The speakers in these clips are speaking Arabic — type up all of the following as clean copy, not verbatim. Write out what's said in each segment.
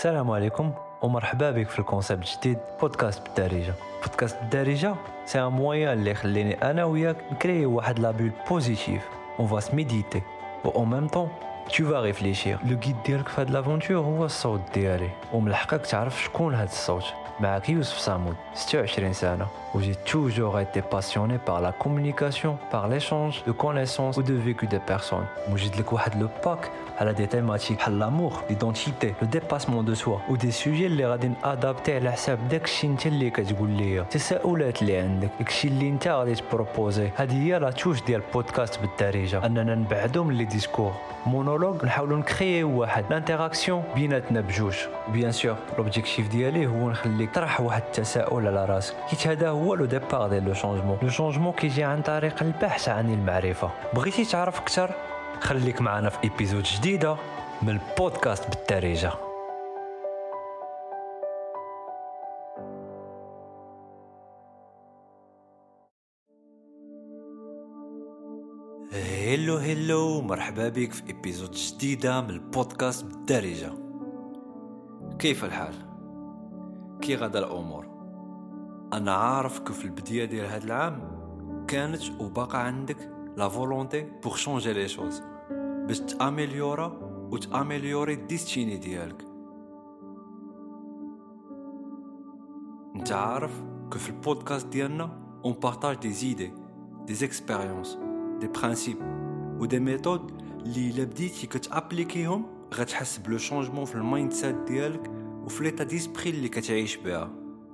السلام عليكم ومرحبا بك في الكونسيبت جديد بودكاست بالدارجه. بودكاست بالدارجه سي ان موين اللي يخليني انا وياك نكري واحد لا بول بوزيتيف. اون فا سميديتي و او ميم طون tu vas réfléchir. لو غيد ديالك في هاد لافونتور هو الصوت ديالي، ومن الحقك تعرف شكون هاد الصوت. معاك يوسف صامود، 26 سنه، و j'ai toujours été passionné par la communication, par l'échange de connaissances ou de vécu des personnes. موجد لك واحد لو باك على دي تيماتيك بحال لامور، ليدونتيتي، لو ديباسمون دو سوا، و دي سوجي اللي غادي نادابتي على حساب داكشي انت اللي كتقول ليا، التساؤلات اللي عندك، داكشي اللي انت غادي تبروبوزي. هذه هي لا توش ديال بودكاست بالدارجه، اننا نبعدو من لي ديسكور مونولوج، نحاولوا نكرييو واحد لانتيراكسيون بيناتنا بجوج. بيان سور لوبجيكتيف ديالي هو نخليك تطرح واحد التساؤل على راسك، حيت هذا هو لو ديبار ديال لو شونجمون. لو شونجمون كيجي عن طريق البحث عن المعرفه. بغيتي تعرف اكثر؟ خليك معنا في ايبيزود جديده من البودكاست بالدارجه. هيلو مرحبا بك في ايبيزود جديده من البودكاست بالدارجه. كيف الحال؟ كي غدا الامور؟ انا عارف كيف في البدايه ديال هذا العام كانت وباقا عندك لا فولونتي بور شونجي لي شوز، باش تاميليورا وتاميليوري الديستيني ديالك. انت عارف كيف في البودكاست ديالنا اون بارطاج دي زيدي، دي اكسبيريونس، دي برينسيپ و دي ميثود اللي الا بديتي كتابليكيهم غتحس بلو شونجمون في المايند سيت ديالك وفي ليطا ديسبري اللي كتعيش بها.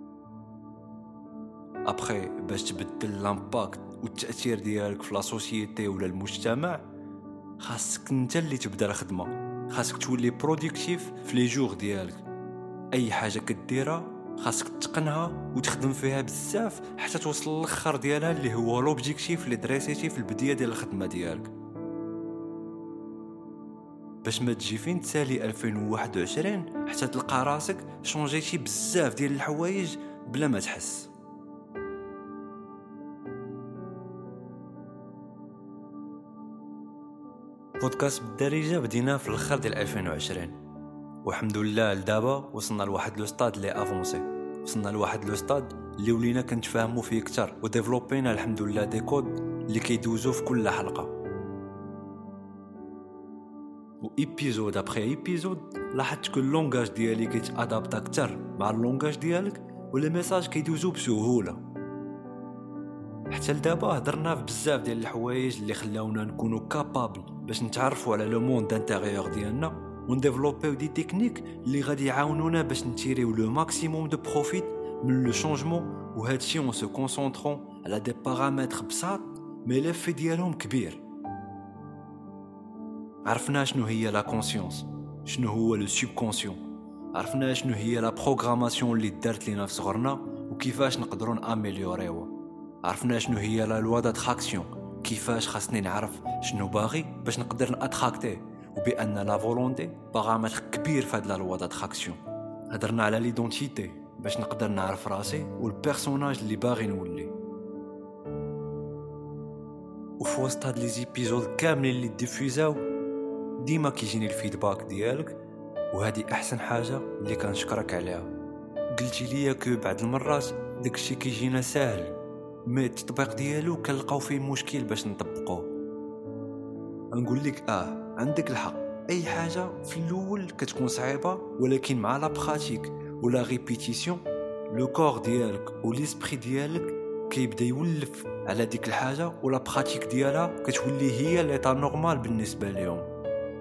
ابخي باش تبدل لامباكت والتاثير ديالك في لا سوسيتي ولا المجتمع، خاصك انت اللي تبدا الخدمه. خاصك تولي برودكتيف في لي جور ديالك. اي حاجه كديرها خاصك تتقنها وتخدم فيها بزاف حتى توصل للاخر ديالها اللي هو لوبجيكتيف اللي دريسيتي في البدايه ديال الخدمه ديالك، باش ما تجي فين تسالي 2021 حتى تلقى راسك شونجيتي بزاف ديال الحوايج بلا ما تحس. بودكاست بالدارجه بدينا في الاخر ديال 2020 والحمد لله لدابا وصلنا لواحد لو ستاد اللي افونسي. وصلنا لواحد لو ستاد اللي ولينا كنتفاهموا فيه اكثر وديفلوبينا الحمد لله دي كود اللي كيدوزو في كل حلقه. و ايبيزود ابري ايبيزود لاحظت كل لونغاج ديالي كيتادابتا اكثر مع اللونغاج ديالك ولا ميساج كيدوزو بسهوله. حتى لدابا هضرنا في بزاف ديال الحوايج اللي خلاونا نكونوا كابابل باش نتعرفوا على لو موند انتيريور ديالنا ونديفلوبيو دي تكنيك اللي غادي يعاونونا باش نتيريو لو ماكسيموم دو بروفيت من لو شونجمون. وهادشي اون سو كونسونطرون على دي بارامتر بساط مي ليفي ديالهم كبير. عرفنا شنو هي لا كونسيونس، شنو هو لو سوبكونسيون، عرفنا شنو هي لا بروغراماسيون اللي دارت لينا في صغرنا وكيفاش نقدروا ناميليوريوها. عرفنا شنو هي لا لوا داتراكسيون، كيفاش خاصني نعرف شنو باغي باش نقدر ناتراكتيه، وبان لا فولونتي بارامتر كبير في هاد لا لوا داتراكسيون. هضرنا على ليدونتيتي باش نقدر نعرف راسي والبيرسوناج اللي باغي نولي. وفي وسط هاد لي زيبيزود كاملين اللي ديفيوزاو ديما كيجيني الفيدباك ديالك، وهذه احسن حاجه اللي كنشكرك عليها. قلتي ليا كو بعض المرات داكشي كيجينا ساهل مي التطبيق ديالو كنلقاو فيه مشكل باش نطبقوه. نقول لك عندك الحق، اي حاجه في الاول كتكون صعيبه ولكن مع لا براتيك ولا ريبيتيسيون لو كور ديالك وليسبري ديالك كيبدا يولف على ديك الحاجه ولا براتيك ديالها كتولي هي ليطا نورمال بالنسبه ليهم.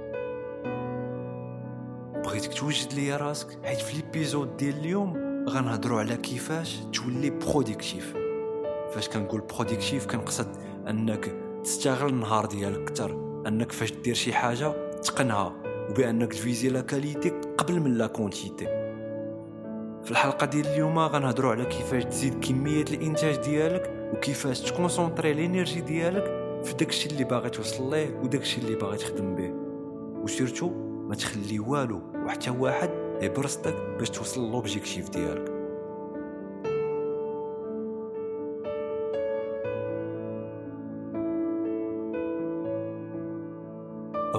بغيتك توجد لي راسك حيت في ليبيزود ديال اليوم غنهضروا على كيفاش تولي برودكتيف. فاش كنقول برودكتيف كنقصد انك تستغل النهار ديالك اكثر، انك فاش دير شي حاجه تقنها وبانك تفيزي لا كاليتي قبل من لا كونتيتي. في الحلقه ديال اليوم غنهضروا على كيفاش تزيد كميه الانتاج ديالك وكيفاش تكونسونطري الانرجي ديالك في داكشي اللي باغي توصل ليه وداكشي اللي باغي تخدم به، وسيرتو ما تخلي والو وحتى واحد يبرصدك باش توصل لوبجيكتيف ديالك.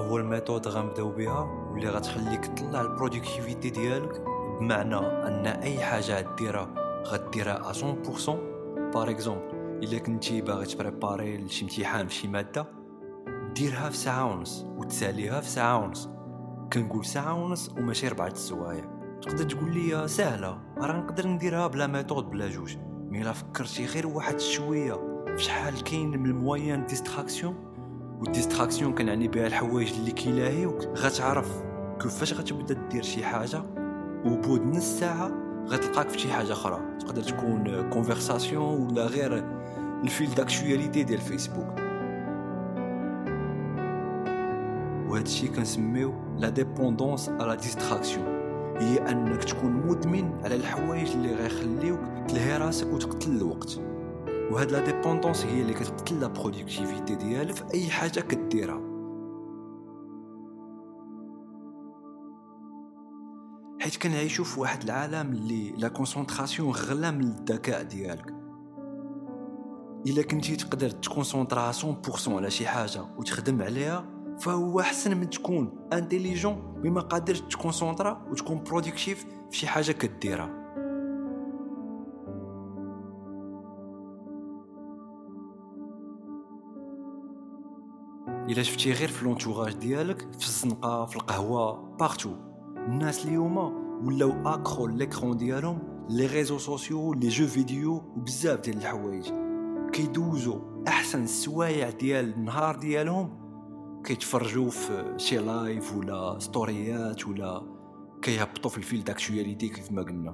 هو الميثود غنبداو بها واللي غتخليك تطلع البرودكتيفيتي ديالك، بمعنى ان اي حاجه غديرها غديرها 100%. بار اكزومبل الا كنتي باغي تبريباري لشي امتحان فشي ماده، ديرها في ساعه ونص وتساليها في ساعه ونص. كنقول ساعه ونص وماشي 4 السوايع. تقدر تقول لي سهله، راه نقدر نديرها بلا ميثود بلا جوج، مي الا فكرتي غير واحد شويه فشحال كاين من المويان ديستراكسيون. والديستراكسيون كنعني بها الحوايج اللي كيلاهيوك، غتعرف كيفاش غتبدا دير شي حاجه وبود نص ساعه غتلقاك في شي حاجه اخرى. تقدر تكون كونفرساسيون ولا غير الفيل داكشواليتي ديال فيسبوك. وهذا الشيء كنسميو لا ديبوندونس على ديستراكسيون، هي انك تكون مدمن على الحوايج اللي غيخليوك تلهي راسك وتقتل الوقت. وهاد لا ديبوندونس هي اللي كتقتل لا برودكتيفيتي ديالك في اي حاجه كديرها. حيت كنعيشوا في واحد العالم اللي لا كونسونطراسيون غلا من الذكاء ديالك. الا كنتي تقدر تكونسونطرا 100% على شي حاجه وتخدم عليها، فهو احسن من تكون انتيليجون بما قادرش تكونسونطرا وتكون برودكتيف في شي حاجه كديرها. الا شفتي غير في لونتوراج ديالك، في الزنقه، في القهوه، بارتو، الناس اليوم ولاو اكرو ليكرون ديالهم، لي ريزو سوسيو، لي جو فيديو وبزاف ديال الحوايج. كيدوزو احسن السوايع ديال النهار ديالهم كيتفرجوا في شي لايف ولا ستوريات ولا كيهبطوا في الفيل داكشواليتي كيف ما قلنا.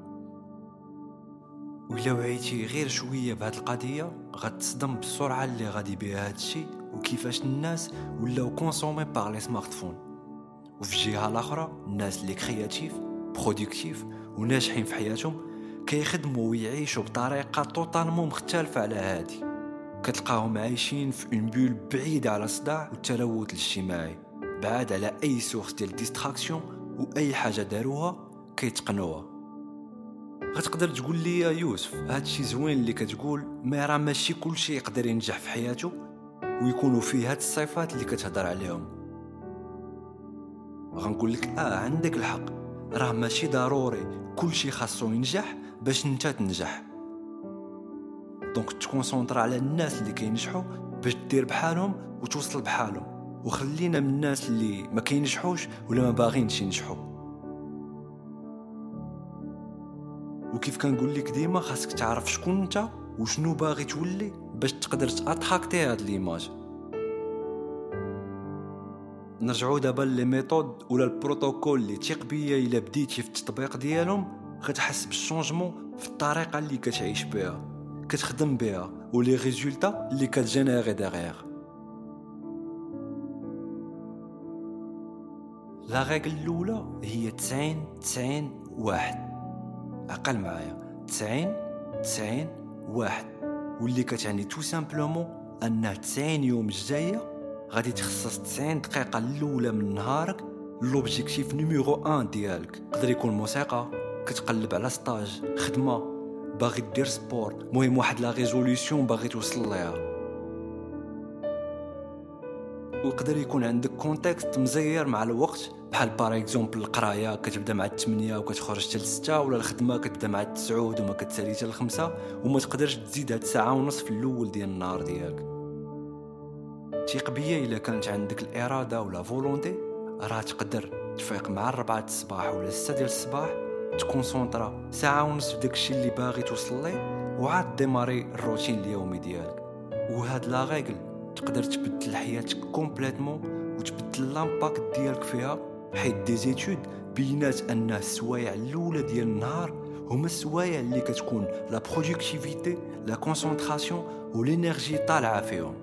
ولا وعيتي غير شويه بهاد القضيه غتصدم بالسرعه اللي غادي بها هادشي وكيفاش الناس ولاو كونسومي باغ لي سمارتفون. وفي الجهه الاخرى الناس اللي كرياتيف برودكتيف وناجحين في حياتهم كيخدموا ويعيشوا بطريقه توتالمون مختلفه على هادي. كتلقاهم عايشين في اون بول بعيده على الصداع والتلوث الاجتماعي، بعاد على اي سورس ديال ديستراكسيون، واي حاجه داروها كيتقنوها. غتقدر تقول لي يا يوسف هادشي زوين اللي كتقول، ما راه ماشي كلشي يقدر ينجح في حياته ويكونوا فيه هاد الصفات اللي كتهضر عليهم. غنقول لك عندك الحق، راه ماشي ضروري كلشي خاصو ينجح باش انت تنجح. دونك تكونسونطر على الناس اللي كينجحوا باش دير بحالهم وتوصل بحالهم، وخلينا من الناس اللي ما كينجحوش ولا ما باغينش ينجحوا. وكيف كنقول لك ديما خاصك تعرف شكون انت وشنو باغي تولي باش تقدر تاتراكتي هاد ليماج. نرجعوا دابا لي ميثود ولا البروتوكول اللي تيق بيا الا بديتي في التطبيق ديالهم غتحس بالشونجمون في الطريقه اللي كتعيش بها كتخدم بها ولي ريزولتا اللي كتجينيري ديغيغ. لا ريغل الاولى هي 90-90-1. عقل معايا 90-90-1، واللي كتعني تو سامبلومون ان 90 يوم الجايه غادي تخصص 90 دقيقه الاولى من نهارك لوبجيكتيف نيميرو 1 ديالك. يقدر يكون موسيقى، كتقلب على ستاج، خدمه، باغي دير سبور، مهم واحد لا ريزوليوشن باغي توصل ليها. ويقدر يكون عندك كونتكست مزير مع الوقت، بحال بار اكزومبل القرايه كتبدا مع 8 وكتخرج حتى 6، ولا الخدمه كتبدا مع 9 وما كتسالي حتى 5، وما تقدرش تزيد هاد ساعه ونص في الاول ديال النهار ديالك. تيق بيا الا كانت عندك الاراده ولا فولونتي راه تقدر تفيق مع 4 الصباح ولا 6 ديال الصباح، تكونسونطرا ساعه ونص في داكشي اللي باغي توصل ليه، وعاد ديماري الروتين اليومي ديالك. وهاد لا ريغل تقدر تبدل حياتك كومبليتمون وتبدل لامباكت ديالك فيها، حيت دي زيتود بينات ان السوايع الاولى ديال النهار هما السوايع اللي كتكون لا برودكتيفيتي، لا كونسونطراسيون والانرجي طالعه فيهم.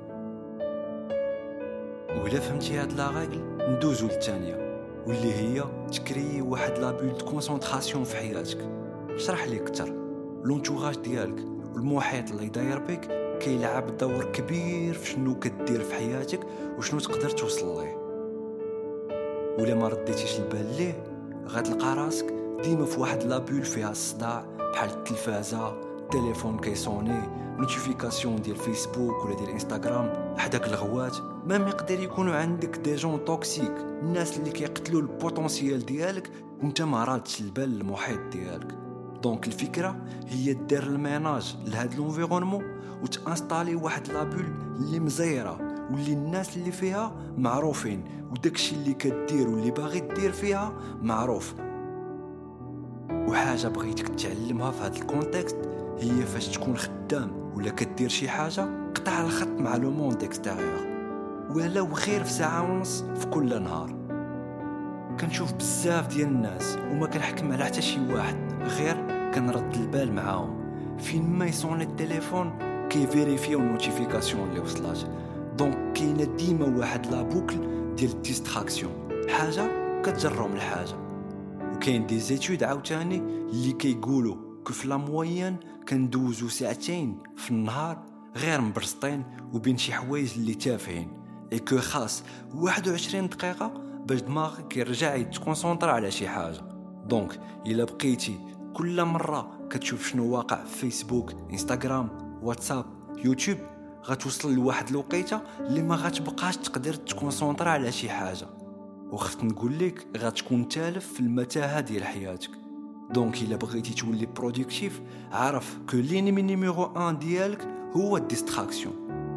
وإلا فهمتي هاد لا ريغل ندوزو للثانيه، واللي هي تكري واحد لا بول دو كونسونطراسيون في حياتك. شرح لي اكثر. لونتوراج ديالك والمحيط اللي داير بك كيلعب دور كبير في شنو كدير في حياتك وشنو تقدر توصل ليه. ولا ما رديتيش البال ليه غتلقى راسك ديما في واحد لا بول فيها الصداع، بحال التلفازه، التليفون كيصوني، نوتيفيكاسيون ديال فيسبوك ولا ديال انستغرام، حداك الغوات مام يقدر يكونوا عندك دي جون توكسيك، الناس اللي كيقتلوا البوتونسيال ديالك وانت ما رادش البال المحيط ديالك. دونك الفكره هي دير الميناج لهاد لونفيرونمون وتانستالي واحد لابول اللي مزيره واللي الناس اللي فيها معروفين وداكشي اللي كدير واللي باغي دير فيها معروف. وحاجه بغيتك تعلمها في هذا الكونتكست هي فاش تكون خدام ولا كدير شي حاجه، قطع الخط مع لو موند اكستيريور ولو غير في ساعه ونص في كل نهار. كنشوف بزاف ديال الناس وما كنحكم على حتى شي واحد، غير كنرد البال معاهم فين ما يصوني التليفون كيفيريفيو النوتيفيكاسيون اللي وصلات. دونك كاينه ديما واحد لا بوكل ديال الديستراكسيون، حاجه كتجرو من حاجه. وكاين دي زيتود عاوتاني اللي كيقولوا كيف لا موين كندوزو ساعتين في النهار غير مبرسطين وبين شي حوايج اللي تافهين، ايكو خاص 21 دقيقه باش دماغك يرجع يتكونسونطرا على شي حاجه. دونك الا بقيتي كل مره كتشوف شنو واقع في فيسبوك، انستغرام، واتساب، يوتيوب، غتوصل لواحد الوقيته اللي ما غتبقاش تقدر تكونسونطرا على شي حاجه، وخفت نقول لك غتكون تالف في المتاهه ديال حياتك. دونك الا بغيتي تولي برودكتيف عرف كو لينيمي نيميرو 1 ديالك هو الديستراكسيون.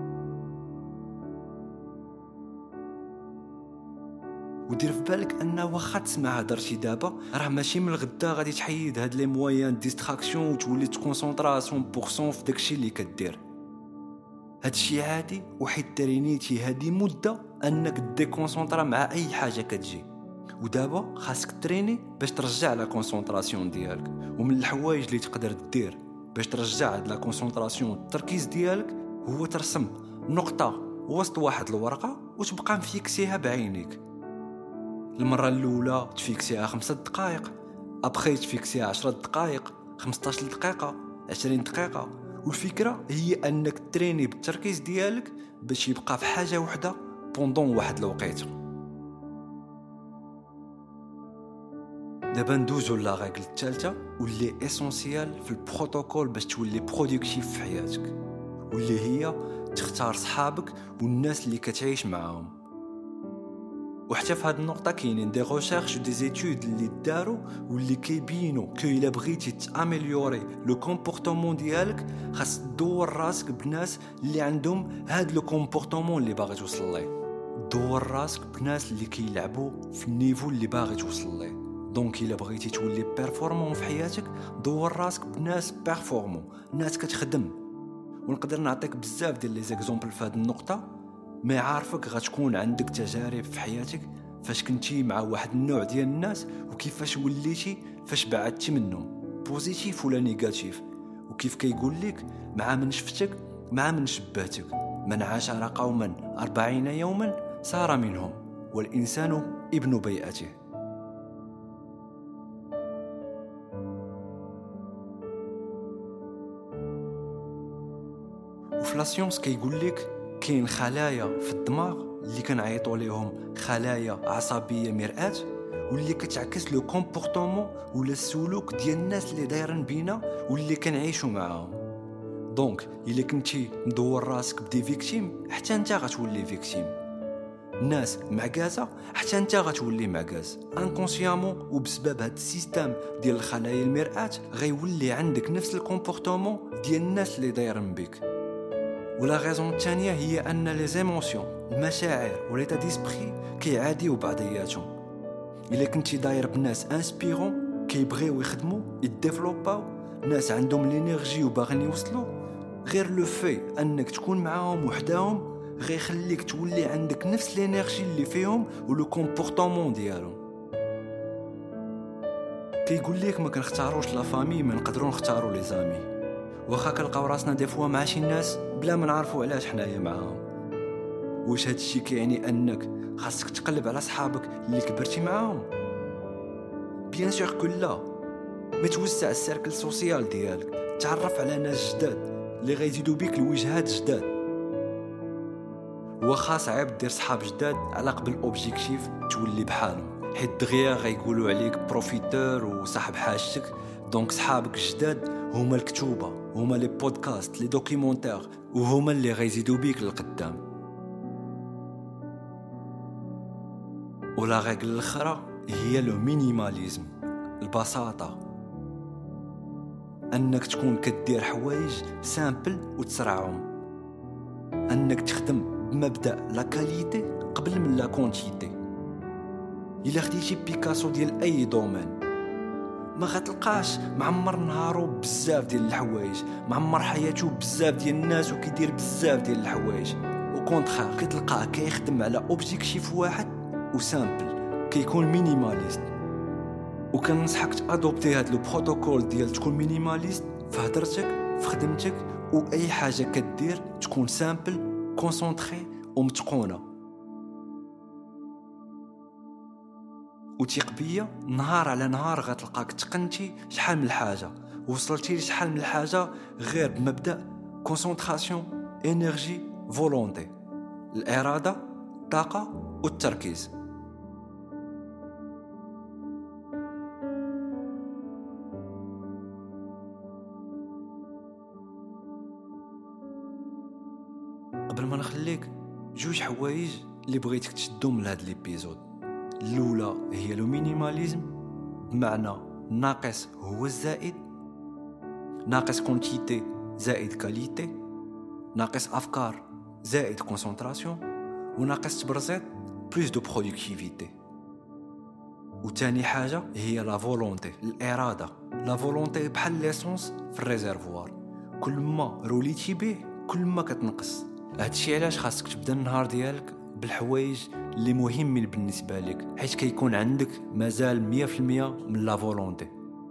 ودير في بالك ان واخا تسمع هضرتي دابا راه ماشي من الغدا غادي تحيد هاد لي مويان ديستراكسيون وتولي تكونسونطرا 100% في داكشي اللي كدير. هادشي عادي، وحيد ترينيتي هادي مده انك ديكونسونطرا مع اي حاجه كتجي، ودابا خاصك تريني باش ترجع لا كونسونطراسيون ديالك. ومن الحوايج اللي تقدر دير باش ترجع هاد لا كونسونطراسيون التركيز ديالك هو ترسم نقطه وسط واحد الورقه وتبقى مفيكسيها بعينيك. المره الاولى تفيكسيها 5 دقائق، ابخي تفيكسيها 10 دقائق، 15 دقيقه، 20 دقيقه. والفكره هي انك تريني بالتركيز ديالك باش يبقى في حاجه وحده بوندون واحد الوقيته. دابا ندوزو لا ريغل الثالثه واللي اسونسيال في البروتوكول باش تولي برودكتيف في حياتك، واللي هي تختار صحابك والناس اللي كتعيش معاهم. وحتى في هذه النقطه كاينين دي ريشيرش ودي زيتود اللي داروا واللي كيبينوا كو الا بغيتي تاميليوري لو كومبورتمون ديالك خاص تدور راسك بناس اللي عندهم هاد لو كومبورتمون اللي باغي توصل ليه. دور راسك بناس اللي كيلعبوا في النيفو اللي باغي توصل ليه. دونك الا بغيتي تولي بيرفورمون في حياتك دور راسك بناس بيرفورمون، ناس كتخدم. ونقدر نعطيك بزاف ديال لي زيكزامبل في هذه النقطه، ما عارفك غتكون عندك تجارب في حياتك فاش كنتي مع واحد النوع ديال الناس وكيفاش وليتي فاش بعدتي منهم، بوزيتيف ولا نيجاتيف. وكيف كيقول لك مع من شفتك مع من شبهتك، من عاشر قوما 40 يوما صار منهم، والإنسان ابن بيئته. وفي لاسيونس كيقول لك كاين خلايا في الدماغ اللي كنعيطوا ليهم خلايا عصبيه مرآة، واللي كتعكس لو كومبورتمون ولا السلوك ديال الناس اللي دايرين بينا واللي كنعيشوا معاهم. دونك الا كنتي مدور راسك بدي فيكتيم حتى انت غتولي فيكتيم، الناس معكازه حتى انت غتولي معكاز انكونسيامون. وبسبب هذا السيستم ديال الخلايا المرآة غيولي عندك نفس الكومبورتمون ديال الناس اللي دايرين بك. ولا غيزون الثانيه هي ان لي زيموسيون، المشاعر وليتا ديسبري كيعاديو بعضياتهم. الا كنتي داير بناس انسبيرون كيبغيو يخدموا يديفلوباو، ناس عندهم لينيرجي وباغيين يوصلوا، غير لو في انك تكون معاهم وحداهم غيخليك تولي عندك نفس لينيرجي اللي فيهم ولو كومبورتمون ديالهم. كيقول لك ما كنختاروش لا فامي، ما نقدروا نختاروا لي زامي. واخا كنلقاو راسنا دي فوا مع شي ناس بلا ما نعرفوا علاش حنايا معاهم. واش هاد الشيء كيعني انك خاصك تقلب على صحابك اللي كبرتي معاهم؟ بيان سور كلا، ما توسع السيركل سوسيال ديالك، تعرف على ناس جداد اللي غيزيدوا بيك الوجهات جداد. واخا صعيب دير صحاب جداد على قبل اوبجيكتيف تولي بحالهم، حيت دغيا غيقولوا عليك بروفيتور وصاحب حاجتك. دونك صحابك الجداد هما الكتوبة، هما لي بودكاست، لي دوكيومونتير، وهما اللي غيزيدوا بيك للقدام. ولا ريغل الاخرى هي لو مينيماليزم، البساطة، انك تكون كدير حوايج سامبل وتسرعهم، انك تخدم بمبدأ لا كاليتي قبل من لا كونتيتي. الا خديتي بيكاسو ديال اي دومين ما غتلقاش معمر نهارو بزاف ديال الحوايج، معمر حياته بزاف ديال الناس وكيدير بزاف ديال الحوايج، وكونتخار كتلقاه كيخدم على اوبجيكتيف واحد وسامبل، كيكون مينيماليست. وكننصحك تادوبتي هاد لو بروتوكول ديال تكون مينيماليست في هضرتك، في خدمتك، واي حاجه كدير تكون سامبل، كونسونطري ومتقونه. وثيق بيا نهار على نهار غتلقاك تقنتي شحال من الحاجه، وصلتي لشحال من الحاجه غير بمبدا كونسونطراسيون، انرجي، فولونتي، الاراده، الطاقه والتركيز. قبل ما نخليك جوج حوايج اللي بغيتك تشدهم من هذا الابيزود. الاولى هي لو مينيماليزم، بمعنى ناقص هو الزائد، ناقص كونتيتي زائد كاليتي، ناقص افكار زائد كونسونطراسيون، وناقص تبرزيط بلوس دو برودكتيفيتي. وثاني حاجه هي لا فولونتي، الاراده. لا فولونتي بحال ليسونس في الريزرفوار، كل ما روليتي به كل ما كتنقص. هادشي علاش خاصك تبدا النهار ديالك بالحوايج اللي مهمين بالنسبه لك، حيت كيكون عندك مازال 100% من لا فولونتي.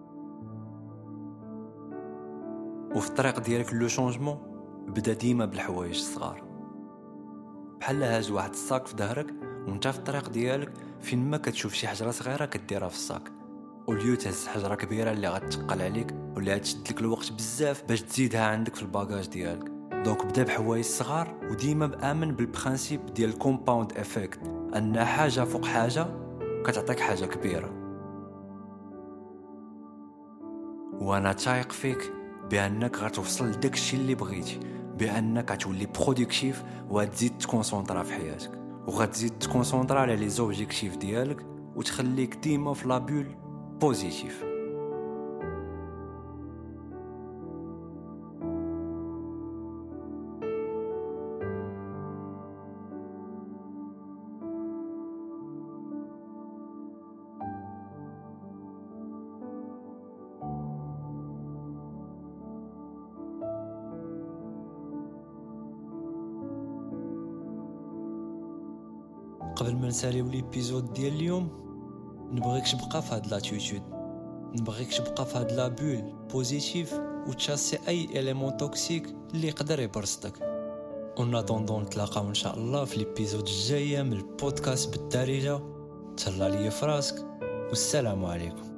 وفي الطريق ديالك لو شونجمون بدا ديما بالحوايج الصغار، بحال هاز واحد الصاك في ظهرك وانت في الطريق ديالك، فين ما كتشوف شي حجره صغيره كديرها في الصاك، وليو تهز حجره كبيره اللي غتثقل عليك ولا غتشد لك الوقت بزاف باش تزيدها عندك في الباجاج ديالك. دونك بدا بحوايج صغار، وديما بامن بالبرانسيب ديال الكومباوند افكت، ان حاجه فوق حاجه كتعطيك حاجه كبيره. وانا تايق فيك بانك غتوصل لداك الشيء اللي بغيتي، بانك غتولي برودكتيف وغتزيد تكونسونطرا في حياتك، وغتزيد تكونسونطرا على لي زوبجيكتيف ديالك، وتخليك ديما في لابول بوزيتيف. قبل ما نساليو ليبيزود ديال اليوم، نبغيك تبقى في هاد لاتيتود، نبغيك تبقى في هاد لابول بوزيتيف وتشاسي اي اليمون توكسيك اللي يقدر يبرصدك. وناطوندون نتلاقاو ان شاء الله في ليبيزود الجايه من البودكاست بالدارجه. تهلا ليا فراسك، والسلام عليكم.